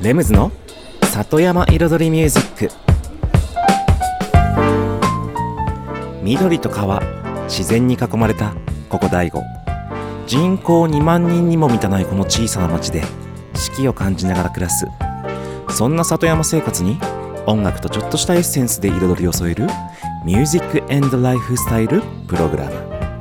レムズの里山彩りミュージック。緑と川、自然に囲まれたここ大悟。人口2万人にも満たないこの小さな町で四季を感じながら暮らす、そんな里山生活に音楽とちょっとしたエッセンスで彩りを添えるミュージック&ライフスタイルプログラム。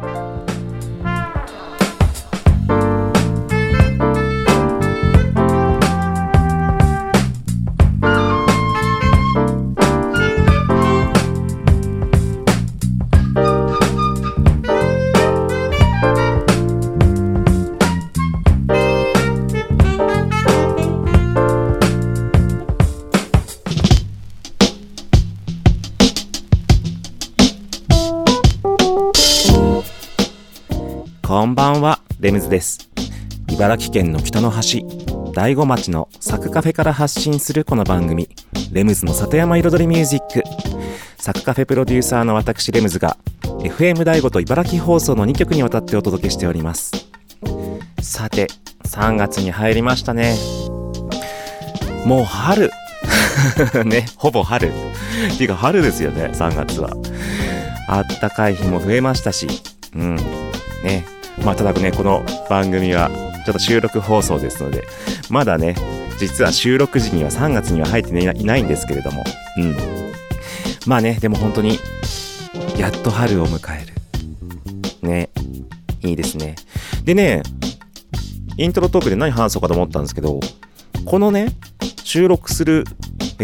こんばんは、レムズです。茨城県の北の端、大子町のサクカフェから発信するこの番組、レムズの里山彩りミュージック。サクカフェプロデューサーの私レムズが FM 大子と茨城放送の2局にわたってお届けしております。さて、3月に入りましたね。もう春ね、ほぼ春っていうか春ですよね。3月はあったかい日も増えましたし、ね、まあただね、この番組はちょっと収録放送ですので、まだね、実は収録時には3月には入っていないんですけれども、まあね、でも本当にやっと春を迎えるね、いいですね。でね、イントロトークで何話そうかと思ったんですけど、このね、収録する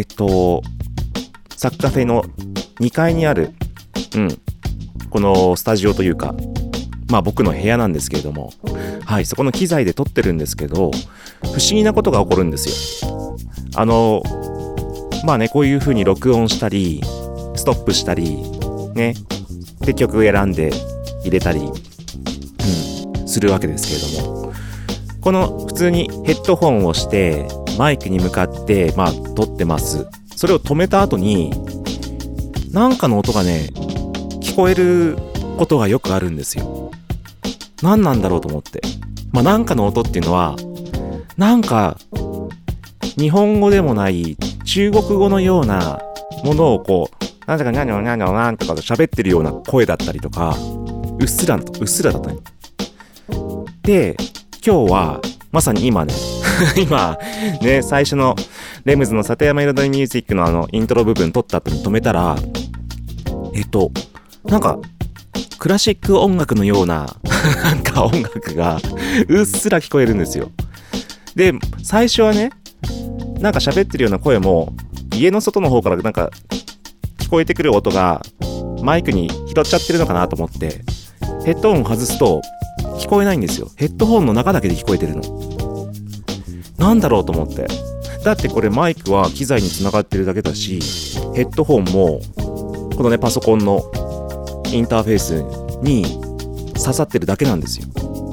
サクカフェの2階にあるこのスタジオというか、まあ僕の部屋なんですけれども、はい、そこの機材で撮ってるんですけど、不思議なことが起こるんですよ。まあね、こういう風に録音したりストップしたりね、で曲選んで入れたり、するわけですけれども、この普通にヘッドホンをしてマイクに向かってまあ撮ってます。それを止めた後になんかの音がね、聞こえることがよくあるんですよ。何なんだろうと思って、まあなんかの音っていうのはなんか日本語でもない中国語のようなものをこうなんとかなんとかなんとかなんとか喋ってるような声だったりとか、うっすらだったね。で、今日はまさに今ね今ね、最初のレムズの里山彩りミュージックのイントロ部分撮った後に止めたら、なんかクラシック音楽のようななんか音楽がうっすら聞こえるんですよ。で、最初はね、なんか喋ってるような声も家の外の方からなんか聞こえてくる音がマイクに拾っちゃってるのかなと思ってヘッドホン外すと聞こえないんですよ。ヘッドホンの中だけで聞こえてるの。なんだろうと思って。だってこれマイクは機材につながってるだけだし、ヘッドホンもこのね、パソコンのインターフェースに刺さってるだけなんですよ。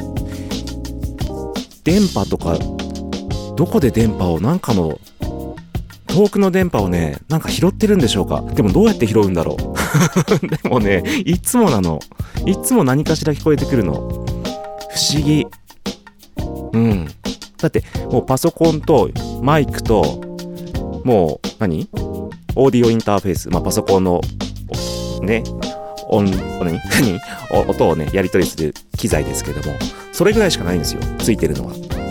電波とか、どこで電波を、なんかの遠くの電波をね、なんか拾ってるんでしょうか。でもどうやって拾うんだろうでもね、いつも何かしら聞こえてくるの。不思議。だってもうパソコンとマイクともうオーディオインターフェース、まあパソコンのね、音をね、やり取りする機材ですけども、それぐらいしかないんですよ、ついてるのは。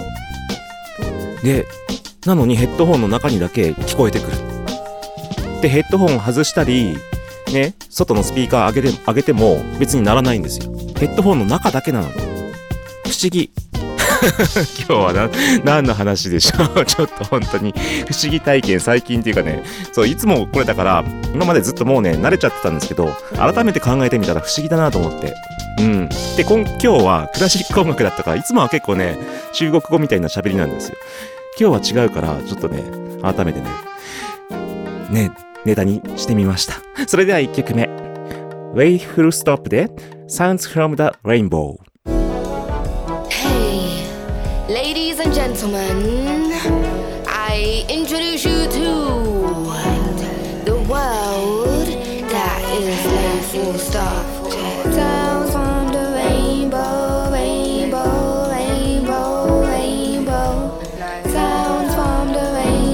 で、なのにヘッドホンの中にだけ聞こえてくる。で、ヘッドホンを外したりね、外のスピーカー上げても別にならないんですよ。ヘッドホンの中だけなの。不思議今日は何の話でしょうちょっと本当に不思議体験、最近っていうかね、そう、いつもこれだから今までずっともうね、慣れちゃってたんですけど、改めて考えてみたら不思議だなと思って。で、今日はクラシック音楽だったから、いつもは結構ね、中国語みたいな喋りなんですよ。今日は違うから、ちょっとね、改めてね、ネタにしてみました。それでは1曲目、Way Full Stop で Sounds from the Rainbow。Ladies and gentlemen, I introduce you to the world that is made full stop. Sounds from the rainbow, rainbow, rainbow, rainbow. Sounds from the rainbow.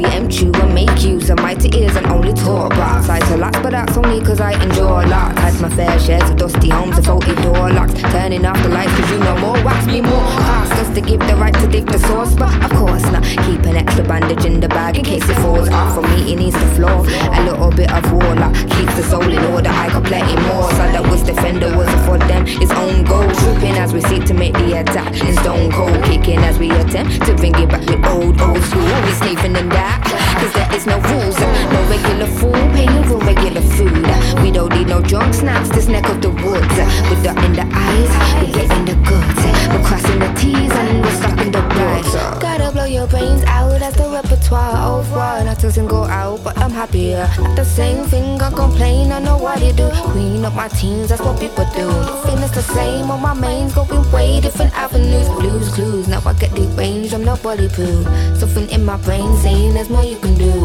preempt you and make use of mighty ears and only talk about sides to lots, but that's only cause I enjoy lots. Had my fair shares of dusty homes and faulty door locks, turning off the lights cause you know more wax me more cost us to give the right to dig the source, but of course not. Keep an extra bandage in the bag in case it falls off. For me it needs the floor, a little bit of warlock keeps the soul in order. I got plenty more, so that was defender was for them his own goal. Trooping as we seek to make the attack, and stone cold kicking as we attempt to bring it back with old school. We sneaking in that, cause there is no rules, no regular food paying for regular food. We don't need no drunk snaps, this neck of the woods. With the in the eyes, we're getting the goods. We're crossing the T's and we're stopping the bloods. Gotta blow your brains out, that's the repertoire of one. That doesn't go out, but I'm happier. Not the same thing, I complain, I know what you do. Clean up my teens, that's what people do. Nothing is the same on my mains, going way different avenues. Blues clues, now I get the range, I'm not bulletproof. Something in my brain saying there's more you can do.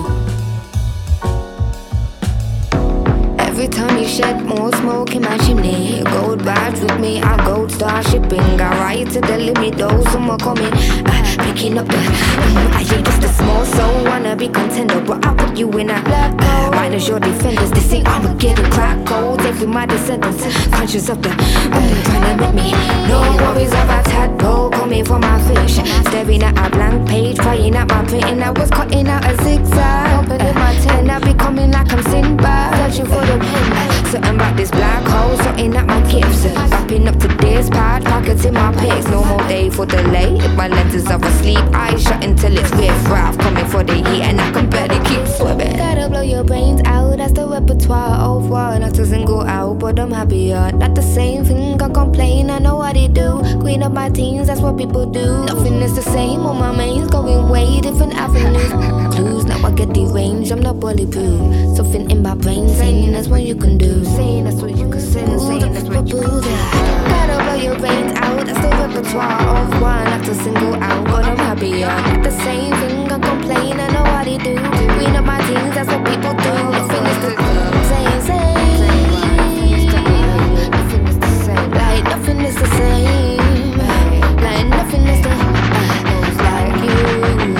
Every time you shed more smoke in my chimney, gold badge with me, I gold star shipping. Got right to the limit, though some are coming. Picking up the I ain't just a small soul, wanna be contender, but I put you in a black hole. Minus your defenders, they say I'ma get a crack cold. Every my descendants, conscious of the trying to make me. No worries about tadpole coming for my fish. Staring at a blank page, crying at my printing. I was cutting out a zigzag, opening my tent, I be coming like I'm Sinbad, searching for the pin. Something about this black hole, something at my gifts. Wrapping up to this pad, pockets in my pics. No more day for delay. If my lenses are asleep, eyes shut until it's riff-raff. Coming for the heat and I can barely keep swimming. Gotta blow your brains out, that's the repertoire of one. That doesn't go out, but I'm happier. Not the same thing, I complain, I know what they do. Clean up my teens, that's what people do. Nothing is the same on my mains, going way different avenues. Clues, now I get the range, I'm not bulletproof. Something in my brain saying that's what you can do. Saying that's what you can say, saying that's what you can do. Gotta blow your brains out, that's the repertoire of one. Not to single out, but I'm happier. Not the same thing, I complain, I know what they do. Clean up my teens, that's what people do. Nothing is the same. Nothing is the same. Like nothing is the same. Like nothing is the like you.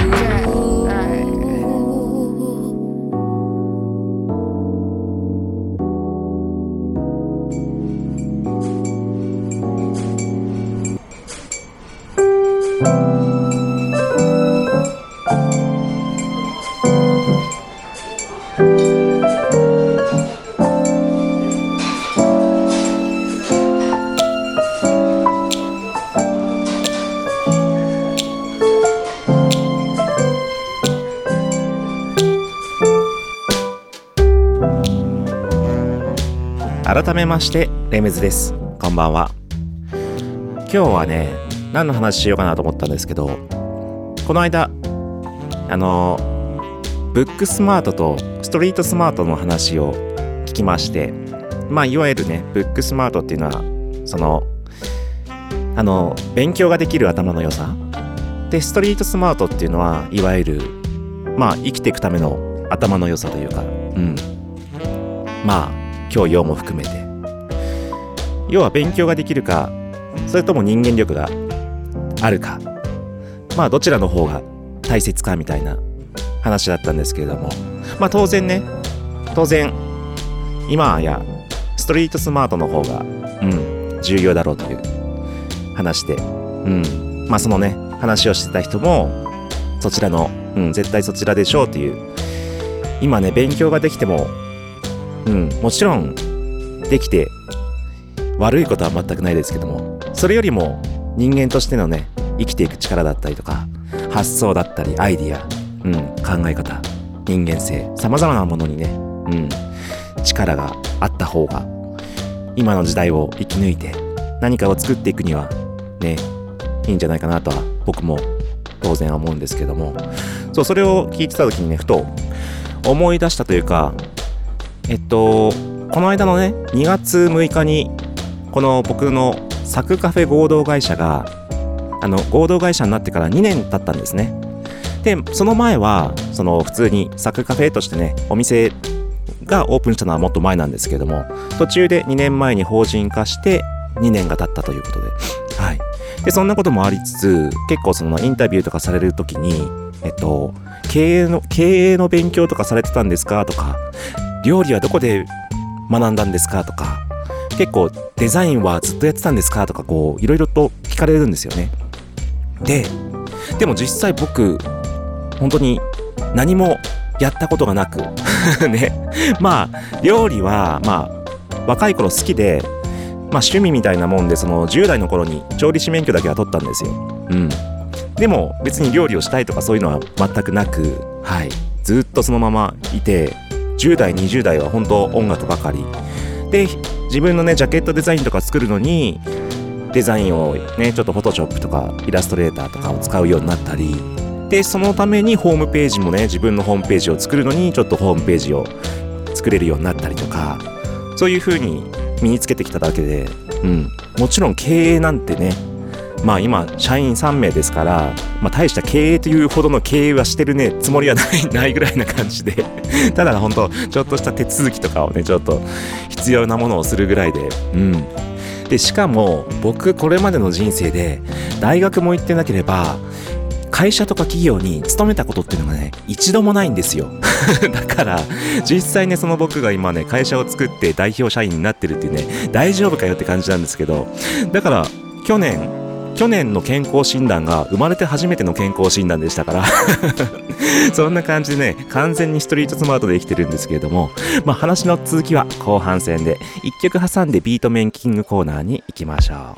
改めましてレムズです。こんばんは。今日はね、何の話しようかなと思ったんですけど、この間ブックスマートとストリートスマートの話を聞きまして、まあいわゆるね、ブックスマートっていうのはその勉強ができる頭の良さで、ストリートスマートっていうのはいわゆるまあ生きていくための頭の良さというか、まあ教養も含めて、要は勉強ができるか、それとも人間力があるか、まあどちらの方が大切かみたいな話だったんですけれども、まあ当然今やストリートスマートの方が重要だろうという話で、まあそのね話をしてた人もそちらの、絶対そちらでしょうっていう、今ね勉強ができてももちろんできて悪いことは全くないですけども、それよりも人間としてのね生きていく力だったりとか、発想だったりアイディア、考え方、人間性、様々なものにね、力があった方が今の時代を生き抜いて何かを作っていくにはねいいんじゃないかなとは僕も当然思うんですけども、それを聞いてた時にねふと思い出したというか、この間のね2月6日にこの僕のサクカフェ合同会社が合同会社になってから2年経ったんですね。でその前はその普通にサクカフェとしてねお店がオープンしたのはもっと前なんですけども、途中で2年前に法人化して2年が経ったということで、でそんなこともありつつ、結構そのインタビューとかされるときに経営の勉強とかされてたんですかとか、料理はどこで学んだんですかとか、結構デザインはずっとやってたんですかとか、こういろいろと聞かれるんですよね。でも実際僕本当に何もやったことがなくね、まあ料理はまあ若い頃好きで、まあ趣味みたいなもんで、その10代の頃に調理師免許だけは取ったんですよ。でも別に料理をしたいとかそういうのは全くなく、はい、ずっとそのままいて、10代20代は本当音楽ばかりで、自分のねジャケットデザインとか作るのにデザインをねちょっとフォトショップとかイラストレーターとかを使うようになったりで、そのためにホームページもね、自分のホームページを作るのにちょっとホームページを作れるようになったりとか、そういう風に身につけてきただけで、もちろん経営なんてね、まあ今社員3名ですから、まあ大した経営というほどの経営はしてるねつもりはないぐらいな感じでただ本当ちょっとした手続きとかをねちょっと必要なものをするぐらいで、でしかも僕これまでの人生で大学も行ってなければ会社とか企業に勤めたことっていうのがね一度もないんですよだから実際ね、その僕が今ね会社を作って代表社員になってるっていうね、大丈夫かよって感じなんですけど、だから去年の健康診断が生まれて初めての健康診断でしたからそんな感じでね、完全にストリートスマートで生きてるんですけれども、まあ話の続きは後半戦で1曲挟んでビートメイキングコーナーに行きましょう。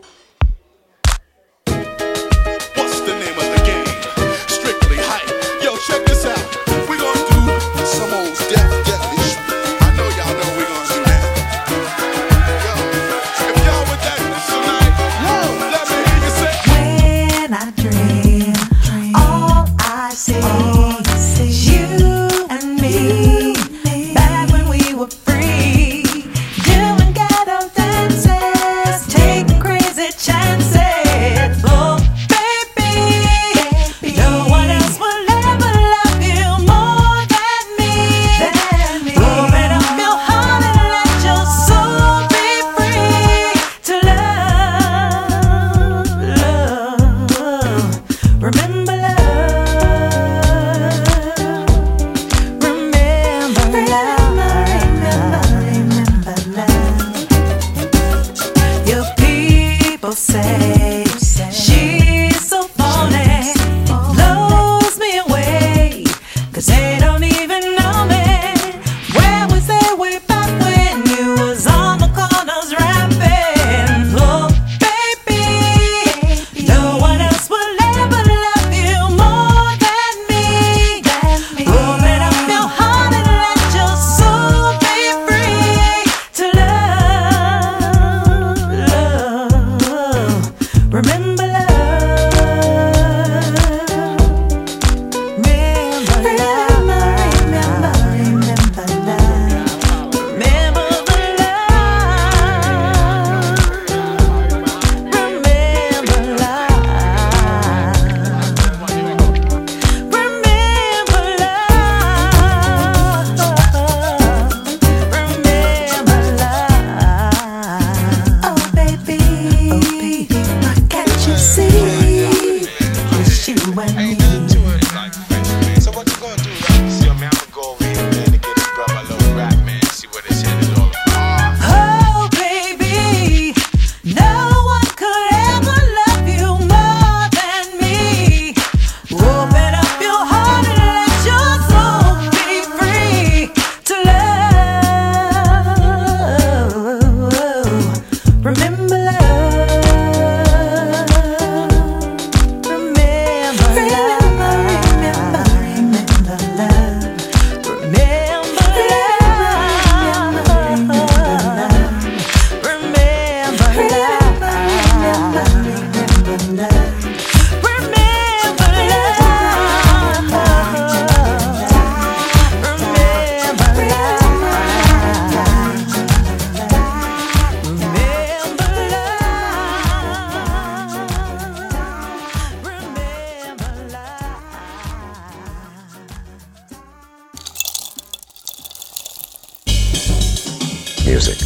music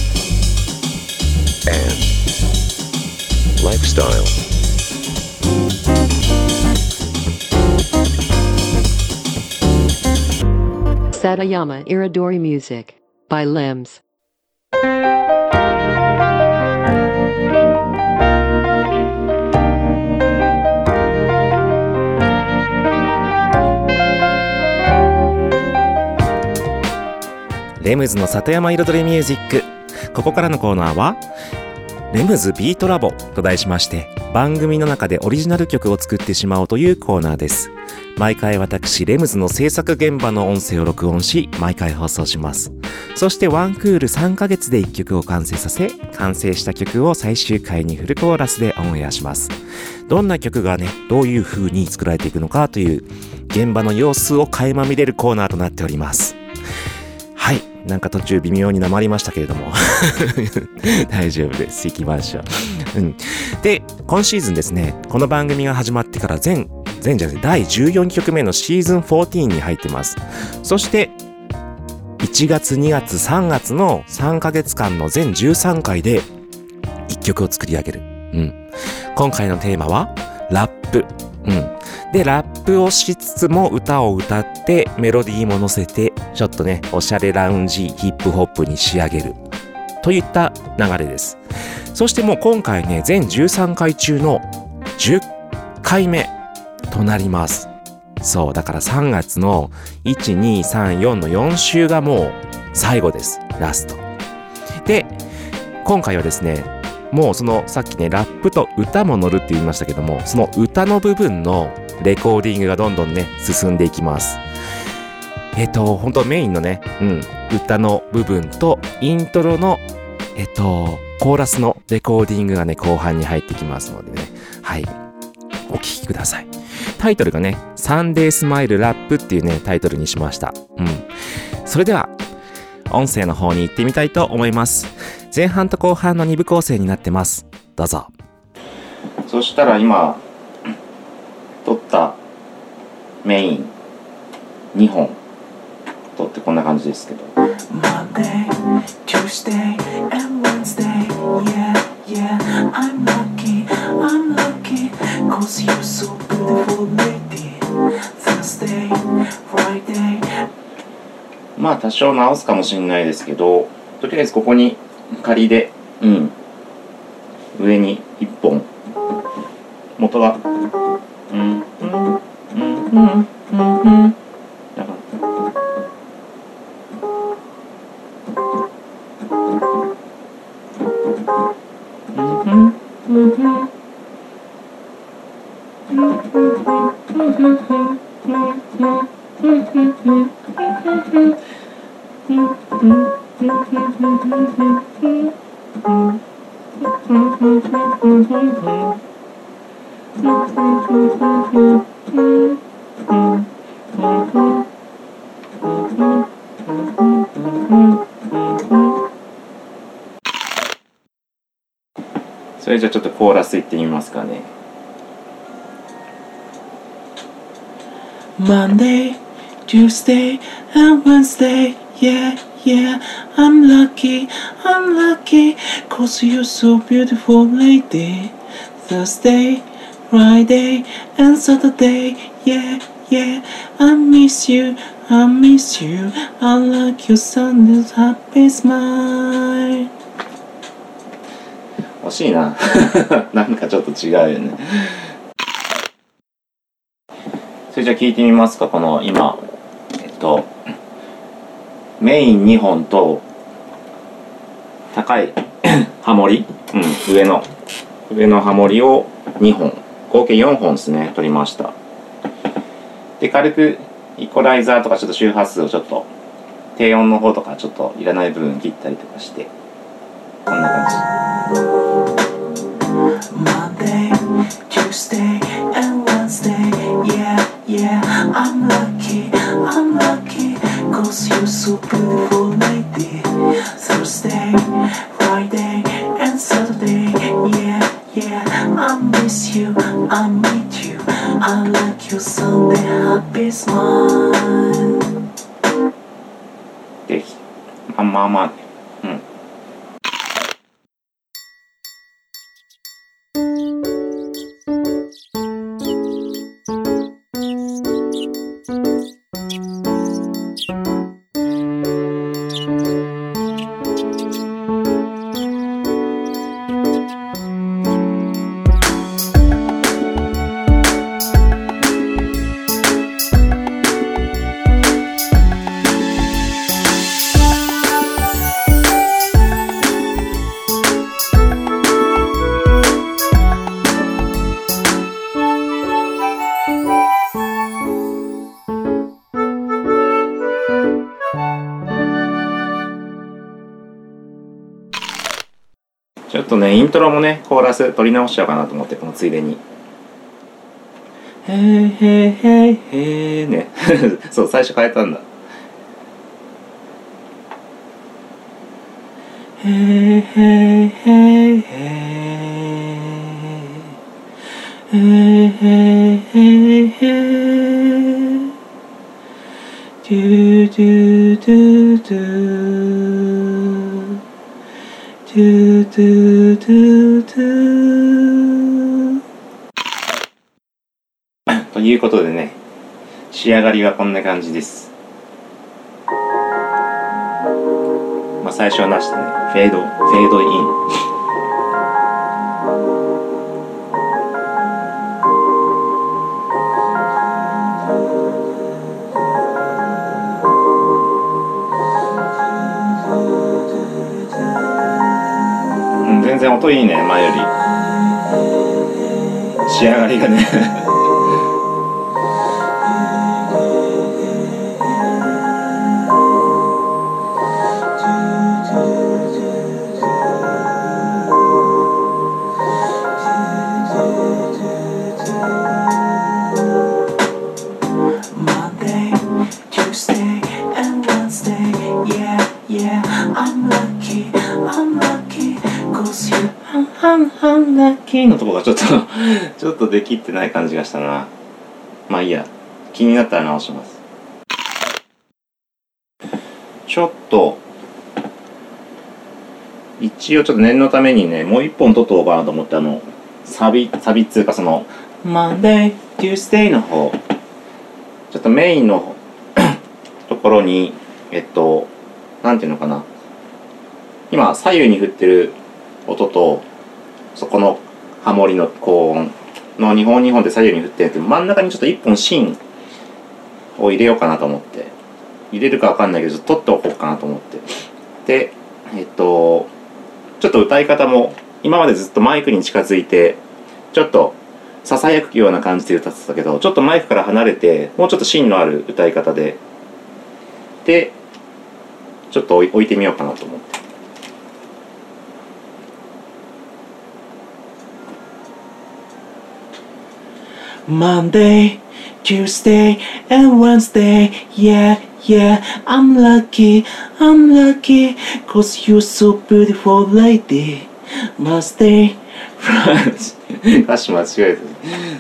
and lifestyle. Satayama Iridori Music by Limbs. レムズの里山彩りミュージック。ここからのコーナーはレムズビートラボと題しまして、番組の中でオリジナル曲を作ってしまおうというコーナーです。毎回私レムズの制作現場の音声を録音し、毎回放送します。そしてワンクール3ヶ月で1曲を完成させ、完成した曲を最終回にフルコーラスでオンエアします。どんな曲がね、どういう風に作られていくのかという現場の様子を垣間見れるコーナーとなっております。はい、なんか途中微妙になまりましたけれども大丈夫です。行きましょう。で、今シーズンですね、この番組が始まってから第14曲目のシーズン14に入ってます。そして1月、2月、3月の3ヶ月間の全13回で1曲を作り上げる。今回のテーマはラップ。で、ラップをしつつも歌を歌ってメロディーも乗せてちょっとね、おしゃれラウンジヒップホップに仕上げるといった流れです。そしてもう今回ね、全13回中の10回目となります。そう、だから3月の1、2、3、4の4週がもう最後です。ラスト。で、今回はですね、もうそのさっきね、ラップと歌も乗るって言いましたけども、その歌の部分のレコーディングがどんどんね、進んでいきます。本当メインのね、歌の部分とイントロのコーラスのレコーディングがね、後半に入ってきますのでね、はい、お聴きください。タイトルがね、サンデースマイルラップっていうね、タイトルにしました。それでは音声の方に行ってみたいと思います。前半と後半の2部構成になってます。どうぞ。そしたら今撮ったメイン2本撮ってこんな感じですけど、 Monday, Tuesday and Wednesday, yeah, I'm lucky, cause you're so beautiful lady. Thursday, Friday. まあ多少直すかもしれないですけど、とりあえずここに仮で、上に1本元がだからそれじゃあちょっとコーラスいってみますかね。 Monday, Tuesday and Wednesday, yeah, I'm lucky, cause you're so beautiful lady. Thursday, Friday and Saturday, yeah, I miss you, I like your Sunday's happy smile. 惜しいななんかちょっと違うよね。それじゃあ聞いてみますか。この今メイン2本と高いハモリ、上のハモリを2本、合計4本ですね、取りました。で、軽くイコライザーとかちょっと周波数をちょっと低音の方とかちょっといらない部分切ったりとかして、こんな感じ。 Monday, Tuesday and Wednesday, yeah, I'm lucky, cause you're so beautiful lady. Thursday, Friday and Saturday, yeah, I miss you, I need you, I like your Sunday happy smile. で、まあね。 とねイントロもねコーラス取り直しちゃおうかなと思って、このついでにへーへーへーへーねそう最初変えたんだ。へーへーへーへーへーへーへーへードゥドゥドゥドゥドゥドゥドゥドゥということでね、仕上がりはこんな感じです。まあ最初はなしでね、フェードイン。全然音いいね、前より。仕上がりがね Monday, Tuesday, and Wednesday. Yeah, yeah, I'm lucky, cause you. ハンラッキーのとこがちょっとできってない感じがしたな。まあいいや、気になったら直します。ちょっと一応ちょっと念のためにね、もう一本取っとこうかなと思って、サビっつうかその Monday, Tuesday の方、ちょっとメインのところになんていうのかな、今左右に振ってる音とそこのハモリの高音の2本で左右に振ってるけど、真ん中にちょっと1本芯を入れようかなと思って、入れるかわかんないけど取っておこうかなと思って、でちょっと歌い方も今までずっとマイクに近づいてちょっとささやくような感じで歌ってたけど、ちょっとマイクから離れてもうちょっと芯のある歌い方でちょっと置いてみようかなと思って。 Monday, Tuesday, and Wednesday. Yeah, yeah, I'm lucky, cause you're so beautiful lady. Wednesday, 歌詞間違えてる。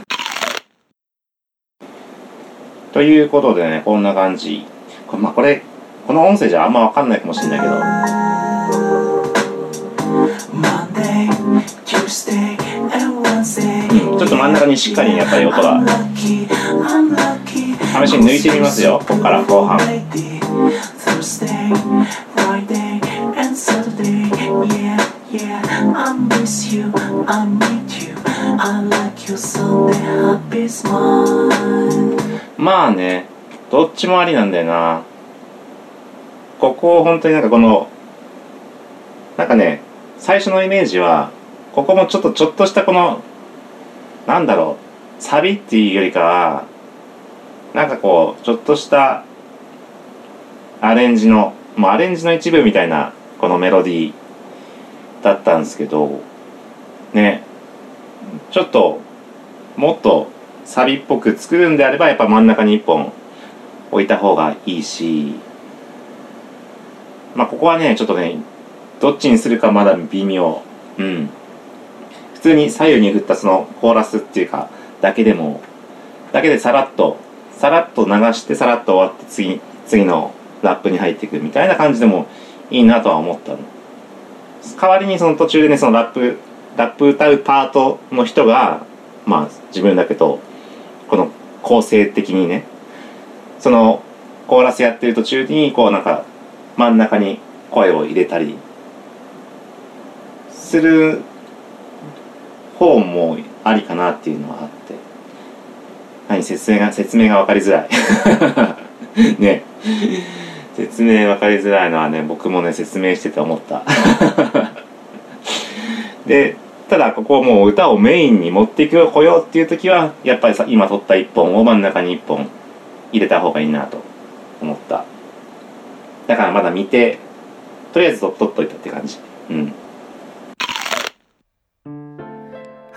ということでね、こんな感じ。この音声じゃあんま分かんないかもしれないけど、 Monday, Tuesday, and Wednesday. ちょっと真ん中にしっかりやっぱり音が I'm lucky, 試しに抜いてみますよ、ここから後半。 Thursday, Friday, and Saturday. Yeah, yeah, I miss you, I meet you. I like your Sunday happy smile. まあね、どっちもありなんだよな。ここを本当になんかなんかね、最初のイメージはここもちょっとしたこのなんだろう、サビっていうよりかはなんかこうちょっとしたアレンジの一部みたいなこのメロディーだったんですけどね、ちょっともっとサビっぽく作るんであればやっぱ真ん中に1本置いた方がいいし、まあここはねちょっとねどっちにするかまだ微妙。普通に左右に振ったそのコーラスっていうかだけでさらっと流してさらっと終わって次のラップに入っていくみたいな感じでもいいなとは思ったの。代わりにその途中でね、そのラップ歌うパートの人がまあ自分だけど、この構成的にね、そのコーラスやってる途中にこうなんか真ん中に声を入れたりする方もありかなっていうのはあって、説明が分かりづらいね、説明分かりづらいのはね、僕もね説明してて思ったで、ただここをもう歌をメインに持ってこようっていう時はやっぱり今取った1本を真ん中に1本入れた方がいいなと思った。だからまだ見てとりあえず取っといたって感じ。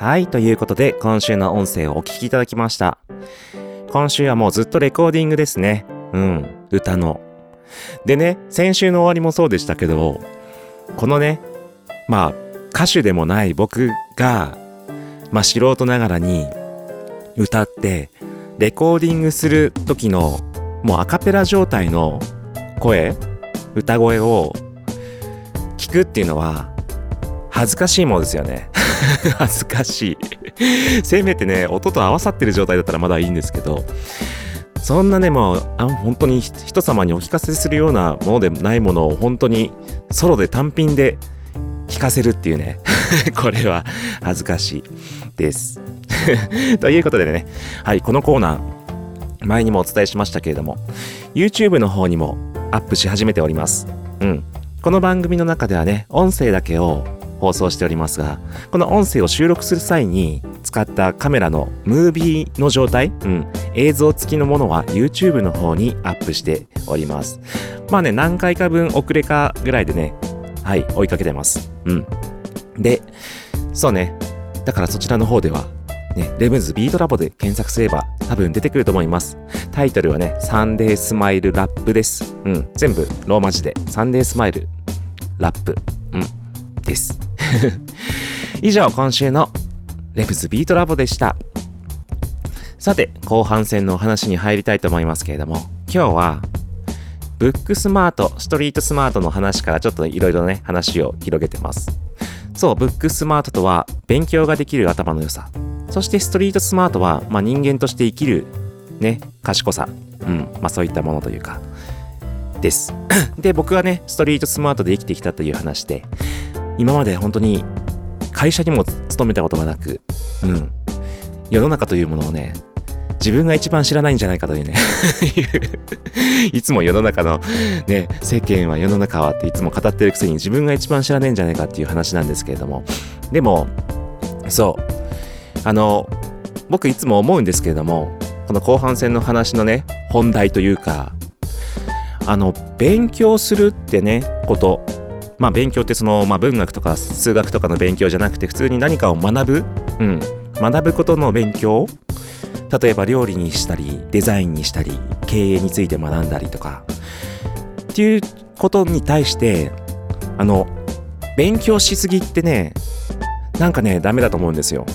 はい、ということで今週の音声をお聞きいただきました。今週はもうずっとレコーディングですね。歌の。でね、先週の終わりもそうでしたけど、このね、歌手でもない僕が、素人ながらに歌ってレコーディングする時のもうアカペラ状態の歌声を聞くっていうのは恥ずかしいものですよね。恥ずかしい。せめてね、音と合わさってる状態だったらまだいいんですけど、そんなね、もう本当に人様にお聞かせするようなものでもないものを本当にソロで単品で聞かせるっていうね。これは恥ずかしいです。ということでね、はい、このコーナー、前にもお伝えしましたけれども、YouTube の方にもアップし始めております。この番組の中ではね、音声だけを放送しておりますが、この音声を収録する際に使ったカメラのムービーの状態、映像付きのものは YouTube の方にアップしております。何回か分遅れかぐらいでね、はい、追いかけてます。で、そうね、だからそちらの方ではね、レムズビートラボで検索すれば多分出てくると思います。タイトルはね、サンデースマイルラップです。全部ローマ字でサンデースマイルラップ、です。以上、今週のレムズビートラボでした。さて、後半戦のお話に入りたいと思いますけれども、今日はブックスマート、ストリートスマートの話からちょっといろいろね、話を広げてます。そう、ブックスマートとは勉強ができる頭の良さ。そしてストリートスマートは、人間として生きるね、賢さ。そういったものというか、です。で、僕はね、ストリートスマートで生きてきたという話で、今まで本当に会社にも勤めたことがなく、世の中というものをね、自分が一番知らないんじゃないかというねいつも世の中のね、世間は世の中はっていつも語ってるくせに自分が一番知らないんじゃないかっていう話なんですけれども、でもそう僕いつも思うんですけれども、この後半戦の話のね、本題というか、勉強するってね、こと勉強って文学とか数学とかの勉強じゃなくて、普通に何かを学ぶ、学ぶことの勉強、例えば料理にしたりデザインにしたり経営について学んだりとかっていうことに対して勉強しすぎってね、なんかね、ダメだと思うんですよ。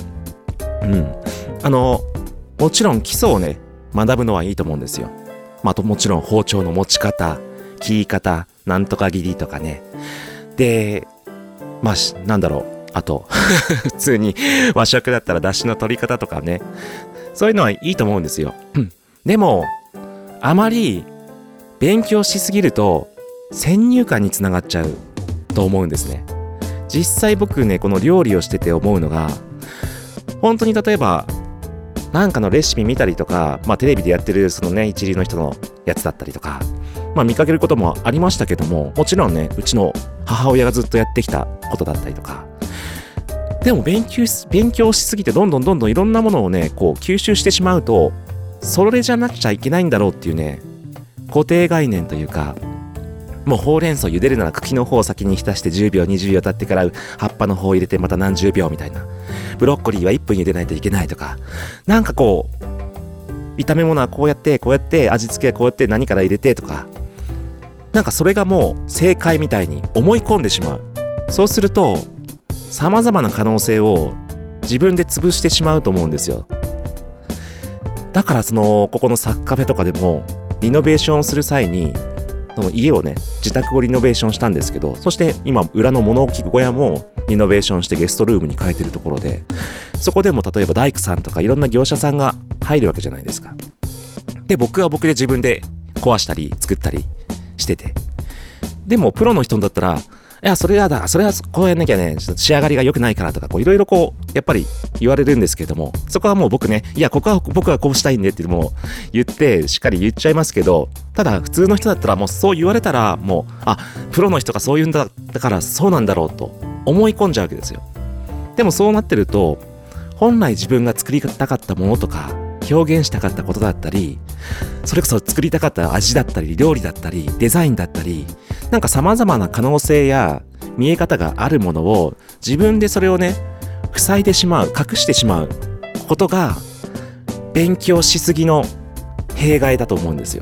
もちろん基礎をね、学ぶのはいいと思うんですよ。もちろん包丁の持ち方、切り方、なんとか切りとかね。で、あと普通に和食だったら出汁の取り方とかね、そういうのはいいと思うんですよ。でもあまり勉強しすぎると先入観につながっちゃうと思うんですね。実際僕ね、この料理をしてて思うのが、本当に例えばなんかのレシピ見たりとか、テレビでやってるそのね、一流の人のやつだったりとか、見かけることもありましたけども、もちろんね、うちの母親がずっとやってきたことだったりとか。でも勉強しすぎてどんどんいろんなものをね、こう吸収してしまうと、それじゃなくちゃいけないんだろうっていうね、固定概念というか、もうほうれん草茹でるなら茎の方を先に浸して10秒20秒経ってから葉っぱの方を入れてまた何十秒みたいな。ブロッコリーは1分茹でないといけないとか、なんかこう炒め物はこうやって味付けはこうやって何から入れてとか、なんかそれがもう正解みたいに思い込んでしまう。そうすると様々な可能性を自分で潰してしまうと思うんですよ。だからここのサッカフェとかでもリノベーションをする際に、その家をね、自宅をリノベーションしたんですけど、そして今裏の物置小屋もリノベーションしてゲストルームに変えてるところで、そこでも例えば大工さんとかいろんな業者さんが入るわけじゃないですか。で、僕は僕で自分で壊したり作ったりしてて、でもプロの人だったら、いや、それはこうやんなきゃね、ちょっと仕上がりが良くないからとか、いろいろやっぱり言われるんですけども、そこはもう僕ね、いや、ここは僕はこうしたいんでってもう言って、しっかり言っちゃいますけど、ただ普通の人だったらもうそう言われたら、もう、プロの人がそう言うんだからそうなんだろうと思い込んじゃうわけですよ。でもそうなってると、本来自分が作りたかったものとか、表現したかったことだったり、それこそ作りたかった味だったり、料理だったり、デザインだったり、なんか様々な可能性や見え方があるものを自分でそれをね、 塞いでしまう、隠してしまうことが勉強しすぎの弊害だと思うんですよ。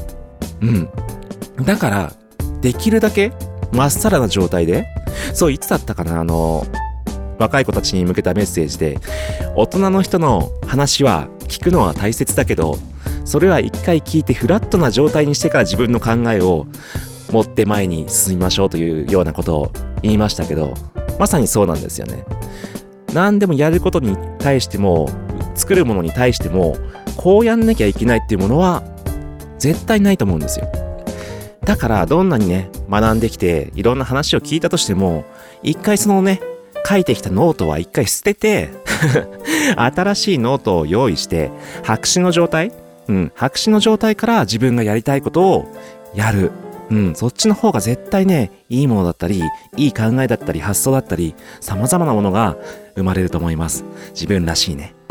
だからできるだけまっさらな状態で、そういつだったかな、若い子たちに向けたメッセージで、大人の人の話は聞くのは大切だけど、それは一回聞いてフラットな状態にしてから自分の考えを持って前に進みましょうというようなことを言いましたけど、まさにそうなんですよね。何でもやることに対しても、作るものに対しても、こうやんなきゃいけないっていうものは絶対ないと思うんですよ。だからどんなにね、学んできていろんな話を聞いたとしても、一回そのね、書いてきたノートは一回捨てて新しいノートを用意して白紙の状態、白紙の状態から自分がやりたいことをやる。そっちの方が絶対ね、いいものだったり、いい考えだったり、発想だったり、様々なものが生まれると思います。自分らしいね。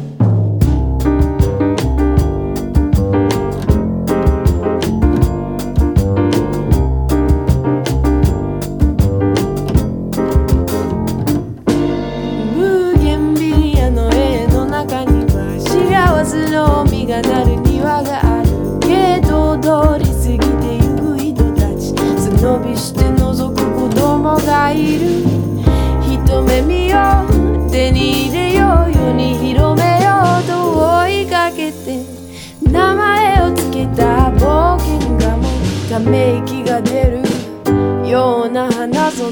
ため息が出るような花園、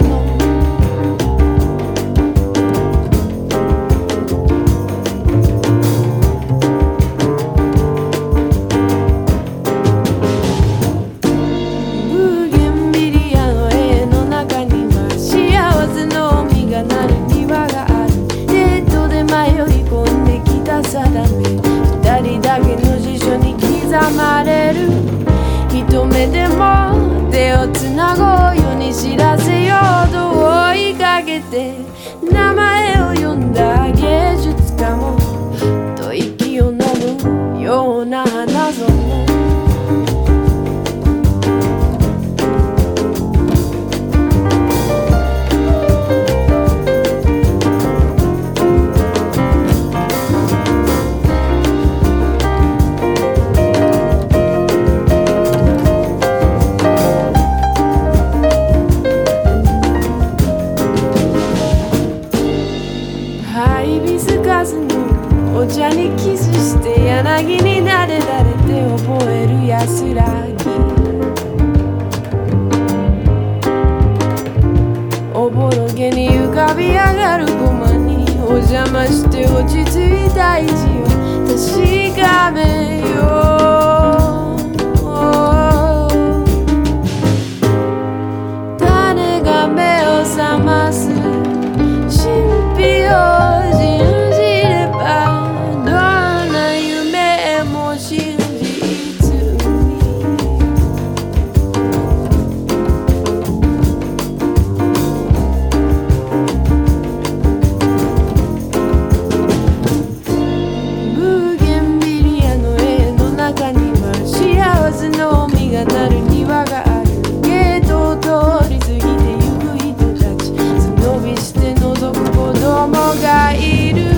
ブーゲンビリアの絵の中には幸せの実がなる庭がある。デートで迷い込んできた定め、二人だけの辞書に刻まれる。一目でも手をつなごうように知らせようと追いかけて、名前を呼んだ芸術家もと息を飲むような花園、お茶にキスして柳になでられて覚える安らぎ、おぼろげに浮かび上がる駒にお邪魔して落ち着いた位置を確かめよう。種が目を覚ます神秘を信じれば、なる庭がある。ゲートを通り過ぎてゆく人たち、背伸びして覗く子供がいる。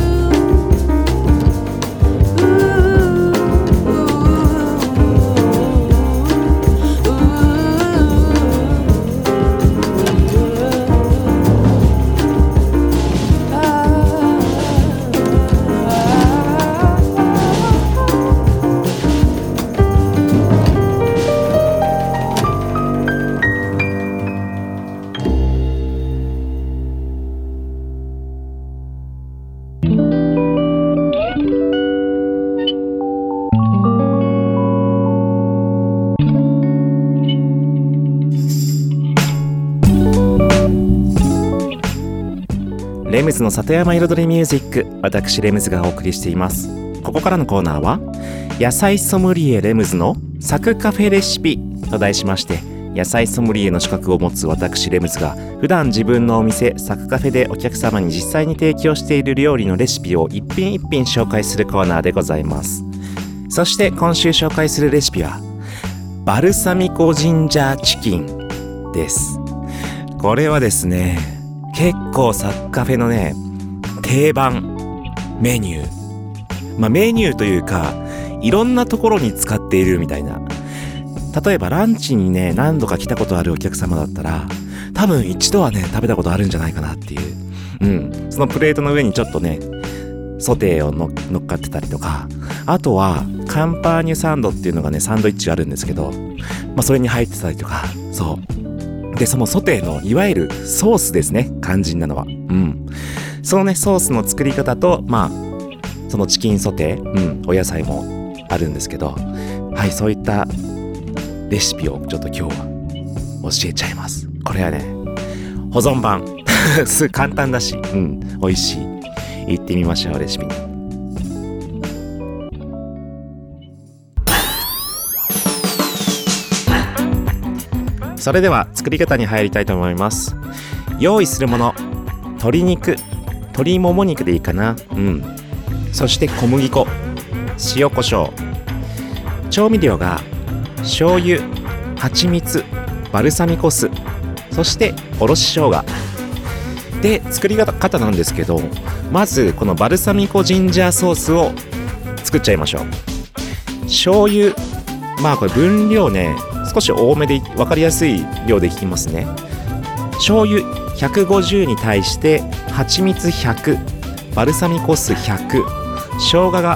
レムズの里山彩りミュージック、私レムズがお送りしています。ここからのコーナーは野菜ソムリエレムズのサクカフェレシピと題しまして、野菜ソムリエの資格を持つ私レムズが普段自分のお店サクカフェでお客様に実際に提供している料理のレシピを一品一品紹介するコーナーでございます。そして今週紹介するレシピはバルサミコジンジャーチキンです。これはですね、結構サクカフェのね定番メニュー、メニューというかいろんなところに使っているみたいな。例えばランチにね何度か来たことあるお客様だったら多分一度はね食べたことあるんじゃないかなっていう、そのプレートの上にちょっとねソテーを乗っかってたりとか、あとはカンパーニュサンドっていうのがねサンドイッチがあるんですけど、それに入ってたりとか、そうでそのソテーのいわゆるソースですね、肝心なのは。そのねソースの作り方とそのチキンソテー、お野菜もあるんですけど、はい、そういったレシピをちょっと今日は教えちゃいます。これはね保存版すぐ簡単だし、美味しい。行ってみましょう、レシピに。それでは作り方に入りたいと思います。用意するもの、鶏肉、鶏もも肉でいいかな。そして小麦粉、塩コショウ、調味料が醤油、蜂蜜、バルサミコ酢、そしておろし生姜で、作り方なんですけど、まずこのバルサミコジンジャーソースを作っちゃいましょう。醤油、これ分量ね少し多めで分かりやすい量でいきますね。醤油150に対して蜂蜜100、バルサミコ酢100、生姜が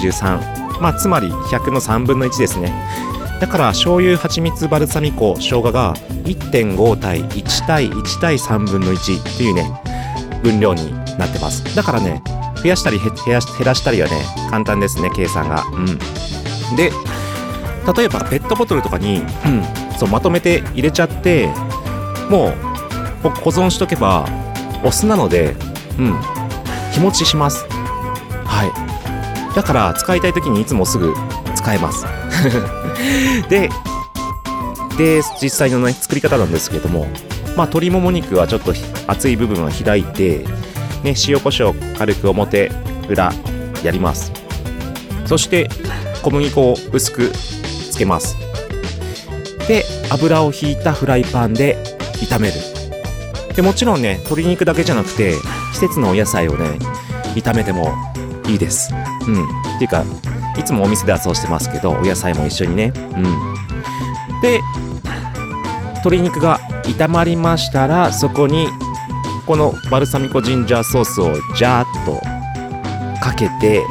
33、つまり100の3分の1ですね。だから醤油、蜂蜜、バルサミコ、生姜が 1.5 対1対1対3分の1というね分量になってます。だからね増やしたり減らしたりはね簡単ですね、計算が。で例えばペットボトルとかに、まとめて入れちゃってもう保存しとけばお酢なので、日持ちします。はい、だから使いたい時にいつもすぐ使えますで実際のね作り方なんですけれども、鶏もも肉はちょっと厚い部分は開いて、塩コショウ軽く表裏やります。そして小麦粉を薄くつけます。で油を引いたフライパンで炒める。でもちろんね鶏肉だけじゃなくて季節のお野菜をね炒めてもいいです。っていうかいつもお店ではそうしてますけど、お野菜も一緒にね。で鶏肉が炒まりましたら、そこにこのバルサミコジンジャーソースをジャーッとかけて、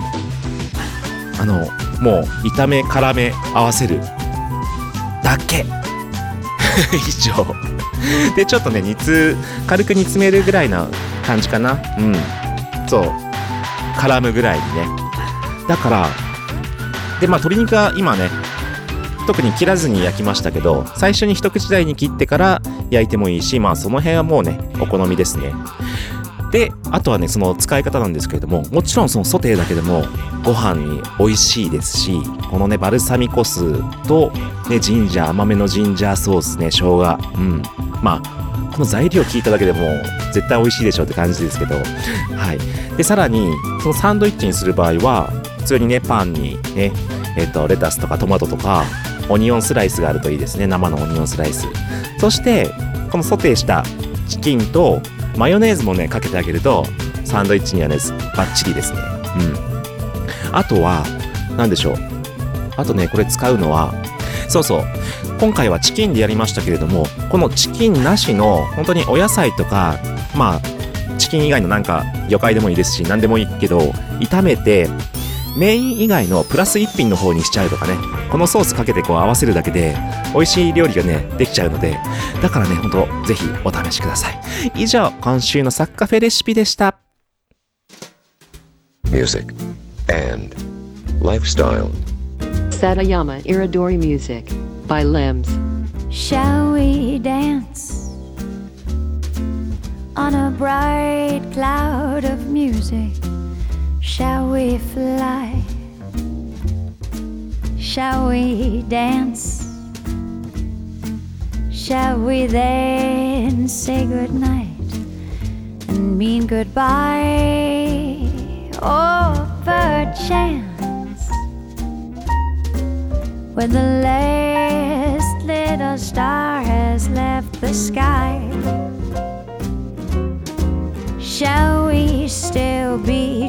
もう炒め絡め合わせるだけ以上でちょっとね軽く煮詰めるぐらいな感じかな。そう絡むぐらいにね。だからで鶏肉は今ね特に切らずに焼きましたけど、最初に一口大に切ってから焼いてもいいし、その辺はもうねお好みですね。であとはねその使い方なんですけれども、もちろんそのソテーだけでもご飯に美味しいですし、このねバルサミコ酢とね甘めのジンジャーソースね、生姜、この材料聞いただけでも絶対美味しいでしょうって感じですけど、はい。でさらにそのサンドイッチにする場合は普通にねパンにねレタスとかトマトとかオニオンスライスがあるといいですね。生のオニオンスライス、そしてこのソテーしたチキンとマヨネーズもねかけてあげるとサンドイッチにはねバッチリですね。あとは何でしょう、あとねこれ使うのは今回はチキンでやりましたけれども、このチキンなしの本当にお野菜とかチキン以外のなんか魚介でもいいですし何でもいいけど、炒めてメイン以外のプラス一品の方にしちゃうとかね、このソースかけて合わせるだけで美味しい料理がねできちゃうので、だからね本当ぜひお試しください。以上、今週のサッカフェレシピでした。 Music and lifestyle. Satayama Iridori Music by Limbs. Shall we dance on a bright cloud of music? Shall we fly? Shall we dance? Shall we then say goodnight and mean goodbye? Oh, perchance when the last little star has left the sky, shall we still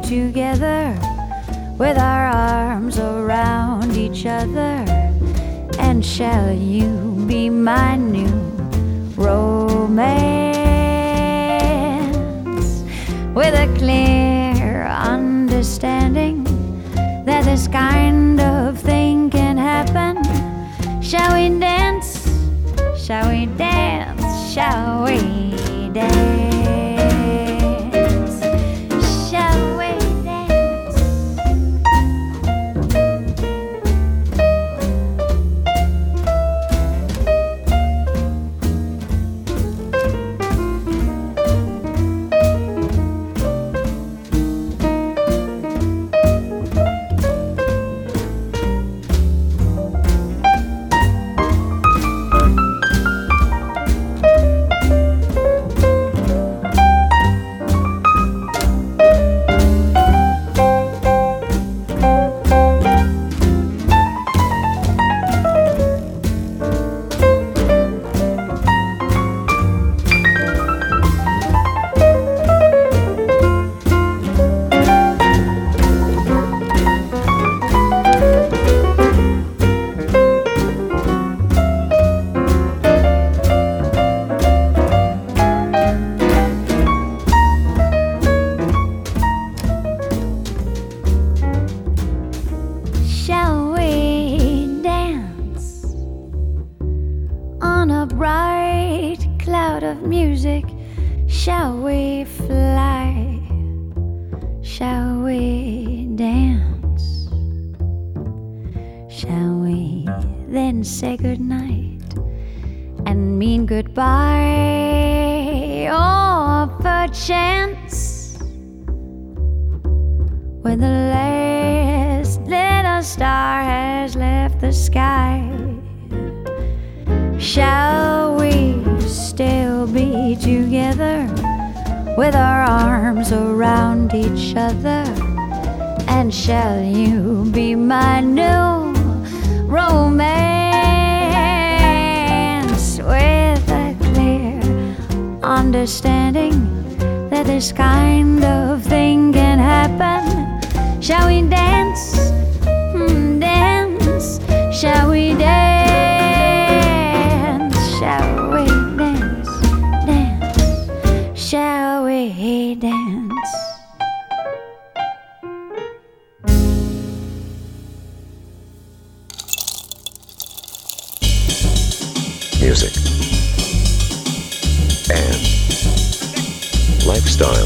together with our arms around each other? And shall you be my new romance? With a clear understanding that this kind of thing can happen. Shall we dance? Shall we dance? Shall we dance? Shall we dance? Shall we dance on a bright cloud of music? Shall we fly? Shall we dance? Shall we then say goodnight and mean goodbye? Or perchance, when the last little star has left the sky, shall we still be together with our arms around each other? And shall you be my new romance? With a clear understanding that this kind of thing can happen. Shall we dance? Dance? Shall we dance? Shall we dance? Dance? Shall we dance? Music and lifestyle.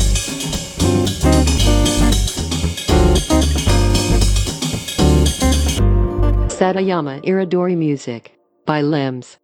Satayama Iridori Music by Limbs.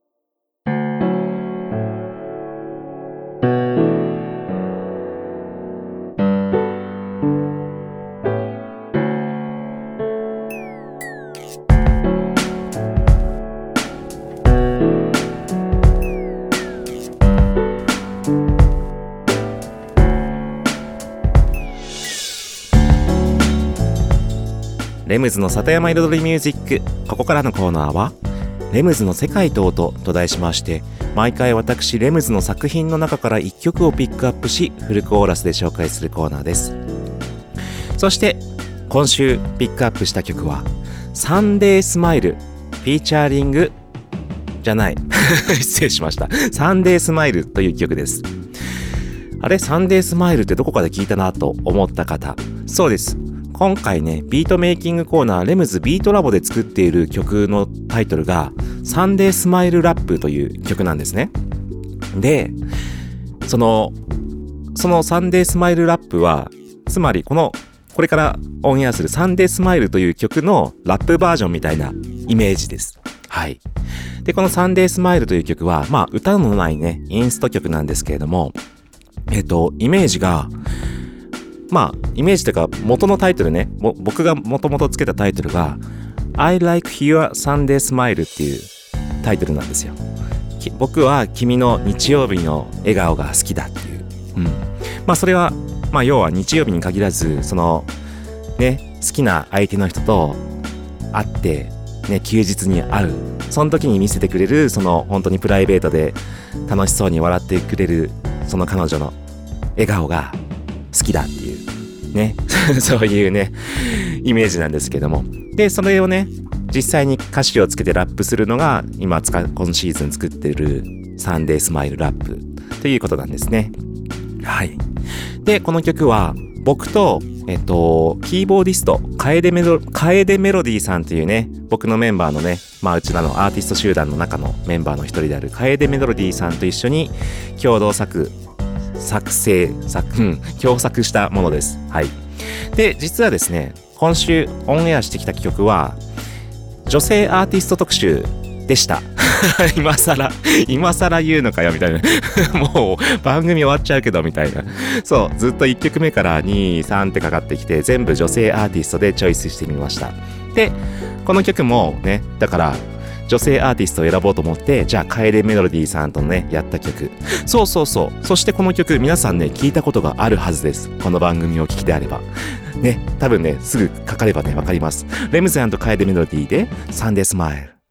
レムズの里山彩りミュージック。ここからのコーナーはレムズの世界と音と題しまして、毎回私レムズの作品の中から1曲をピックアップし、フルコーラスで紹介するコーナーです。そして今週ピックアップした曲はサンデースマイルフィーチャーリングじゃない失礼しました。サンデースマイルという曲です。あれ、サンデースマイルってどこかで聞いたなと思った方、そうです。今回ね、ビートメイキングコーナーレムズビートラボで作っている曲のタイトルがサンデースマイルラップという曲なんですね。で、そのサンデースマイルラップは、つまりこれからオンエアするサンデースマイルという曲のラップバージョンみたいなイメージです。はい。で、このサンデースマイルという曲は、まあ歌のないね、インスト曲なんですけれども、イメージが、まあ、イメージというか元のタイトルね、僕がもともとつけたタイトルが I like your Sunday smile っていうタイトルなんですよ。僕は君の日曜日の笑顔が好きだっていう。まあそれは、まあ要は日曜日に限らず、その、ね、好きな相手の人と会って、ね、休日に会う。その時に見せてくれる、その本当にプライベートで楽しそうに笑ってくれる、その彼女の笑顔が好きだっていうねそういうねイメージなんですけども、でそれをね実際に歌詞をつけてラップするのが今今シーズン作ってるサンデースマイルラップということなんですね。はい。でこの曲は僕とキーボーディスト楓メロディーさんというね、僕のメンバーのね、うちらのアーティスト集団の中のメンバーの一人である楓メロディーさんと一緒に共同作したものです。はい。で実はですね、今週オンエアしてきた曲は女性アーティスト特集でした今更言うのかよみたいなもう番組終わっちゃうけどみたいな。そうずっと1曲目から2、3ってかかってきて、全部女性アーティストでチョイスしてみました。でこの曲もね、だから女性アーティストを選ぼうと思って、じゃあ楓メロディーさんとねやった曲、そうそしてこの曲皆さんね聞いたことがあるはずです。この番組を聞きであればね、多分ねすぐかかればねわかります。レムズ&楓メロディーでサンデースマイル。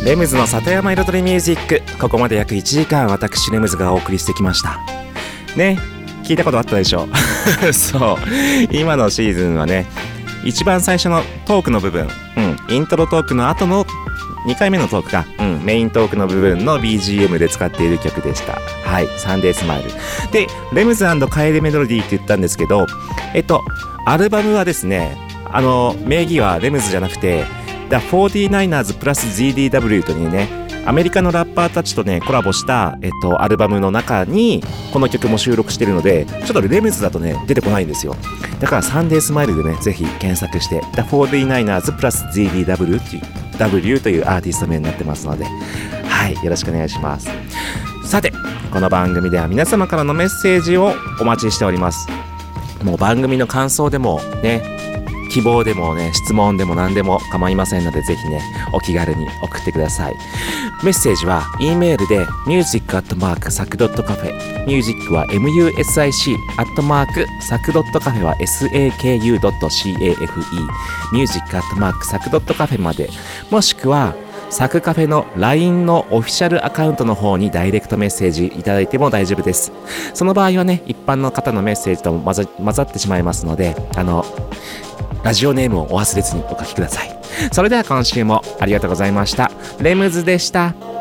レムズの里山彩りミュージック、ここまで約1時間私レムズがお送りしてきましたね。聞いたことあったでしょそう今のシーズンはね、一番最初のトークの部分、イントロトークの後の2回目のトークか、メイントークの部分の BGM で使っている曲でした。はい、サンデースマイルで、レムズ&カエルメロディーって言ったんですけど、アルバムはですね、名義はレムズじゃなくて The 49ers プラス GDW というね、アメリカのラッパーたちとねコラボした、アルバムの中にこの曲も収録してるので、ちょっとレムズだとね出てこないんですよ。だからサンデースマイルでねぜひ検索して The 49ers プラス GDW っていう W というアーティスト名になってますので、はい、よろしくお願いします。さて、この番組では皆様からのメッセージをお待ちしております。もう番組の感想でもね、希望でもね、質問でも何でも構いませんので、ぜひねお気軽に送ってください。メッセージは E メールで music@sac.cafe、 ミュージックは music@sac.cafe は saku.cafe、 music@sac.cafe まで、もしくはサクカフェの LINE のオフィシャルアカウントの方にダイレクトメッセージいただいても大丈夫です。その場合はね、一般の方のメッセージとも混ざってしまいますので、ラジオネームをお忘れずにお書きください。それでは今週もありがとうございました。レムズでした。